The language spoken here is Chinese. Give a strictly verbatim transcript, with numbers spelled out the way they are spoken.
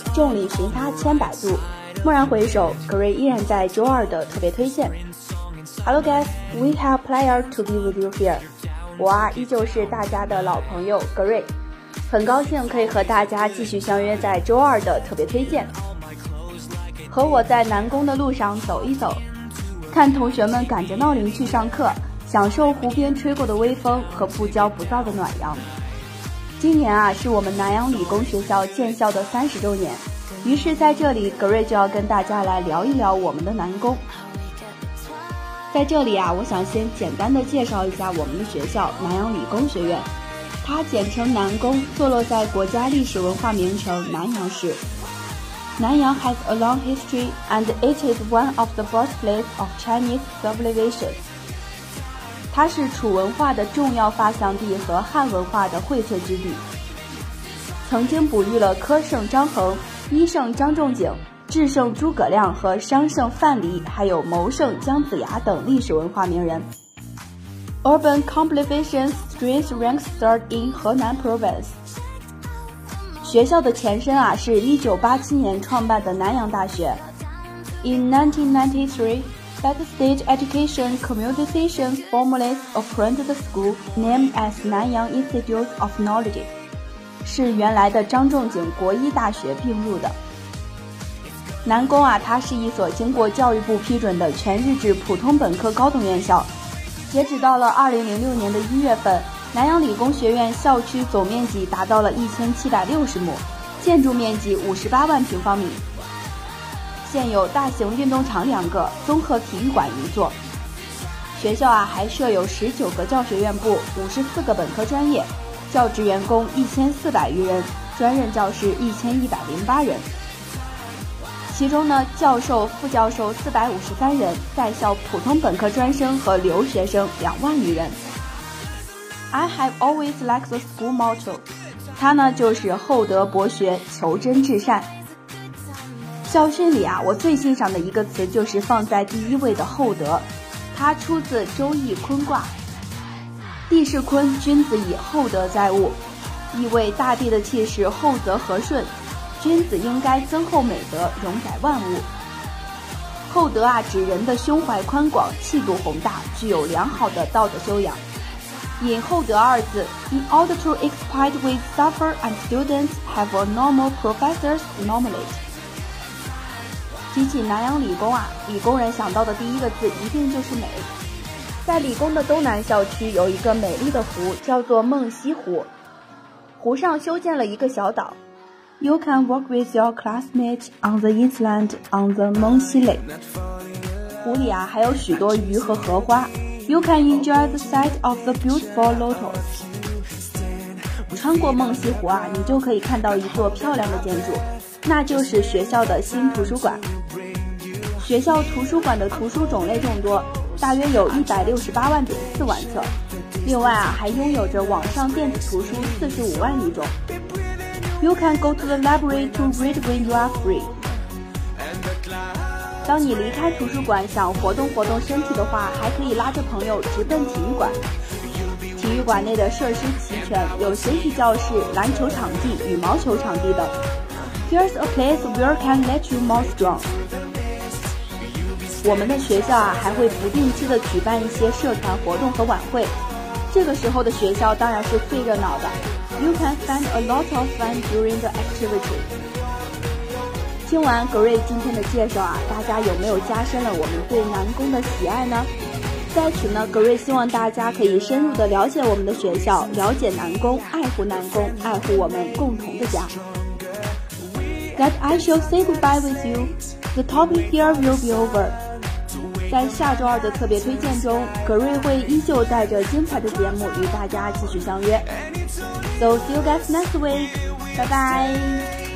众里寻他千百度，蓦然回首，格瑞依然在周二的特别推荐。Hello guys, we have pleasure to be with you here. 我啊，依旧是大家的老朋友格瑞，很高兴可以和大家继续相约在周二的特别推荐。和我在南宫的路上走一走，看同学们赶着闹铃去上课，享受湖边吹过的微风和不骄不躁的暖阳。今年啊，是我们南阳理工学校建校的三十周年，于是在这里，格瑞就要跟大家来聊一聊我们的南工。在这里啊，我想先简单的介绍一下我们的学校南阳理工学院，它简称南工，坐落在国家历史文化名城南阳市。南阳 has a long history and it is one of the birthplace of Chinese civilization。它是楚文化的重要发祥地和汉文化的荟萃之地，曾经哺育了科圣张衡、医圣张仲景、智圣诸葛亮和商圣范蠡，还有谋圣姜子牙等历史文化名人。Urban Completion Strength ranks third in 河南 Province。学校的前身啊是一九八七年创办的南阳大学。In nineteen ninety-three。That state education communication formally appointed the school named as Nanyang Institute of Knowledge， 是原来的张仲景国医大学并入的。南工啊，它是一所经过教育部批准的全日制普通本科高等院校。截止到了二零零六年的一月份，南阳理工学院校区总面积达到了一千七百六十亩，建筑面积五十八万平方米。现有大型运动场两个，综合体育馆一座。学校啊还设有十九个教学院部，五十四个本科专业，教职员工一千四百余人，专任教师一千一百零八人。其中呢，教授、副教授四百五十三人，在校普通本科专生和留学生两万余人。I have always liked the school motto， 它呢就是厚德博学，求真至善。校训里啊，我最欣赏的一个词就是放在第一位的厚德，它出自周易坤卦。地势坤，君子以厚德载物，意味大地的气势厚泽和顺，君子应该增厚美德，容载万物。厚德啊，指人的胸怀宽广，气度宏大，具有良好的道德修养。引厚德二字 ，In order to exploit with suffer and students have a normal professors nominate。提起南阳理工啊，理工人想到的第一个字一定就是美。在理工的东南校区有一个美丽的湖，叫做梦溪湖。湖上修建了一个小岛。You can walk with your classmates on the inland on the Mengxi Lake。湖里啊还有许多鱼和荷花。You can enjoy the sight of the beautiful lotus。穿过梦溪湖啊，你就可以看到一座漂亮的建筑，那就是学校的新图书馆。学校图书馆的图书种类众多，大约有一百六十八万点四万册。另外啊，还拥有着网上电子图书四十五万余种。You can go to the library to read when you are free。当你离开图书馆想活动活动身体的话，还可以拉着朋友直奔体育馆。体育馆内的设施齐全，有学习教室、篮球场地、羽毛球场地等。Here's a place where can let you more strong。我们的学校啊，还会不定期的举办一些社团活动和晚会，这个时候的学校当然是最热闹的。You can find a lot of fun during the activity。听完格瑞今天的介绍啊，大家有没有加深了我们对南工的喜爱呢？在此呢，格瑞希望大家可以深入的了解我们的学校，了解南工，爱护南工，爱护我们共同的家。That I shall say goodbye with you. The topic here will be over. 在下周二的特别推荐中，格瑞会依旧带着精彩的节目与大家继续相约。So see you guys next week. Bye bye.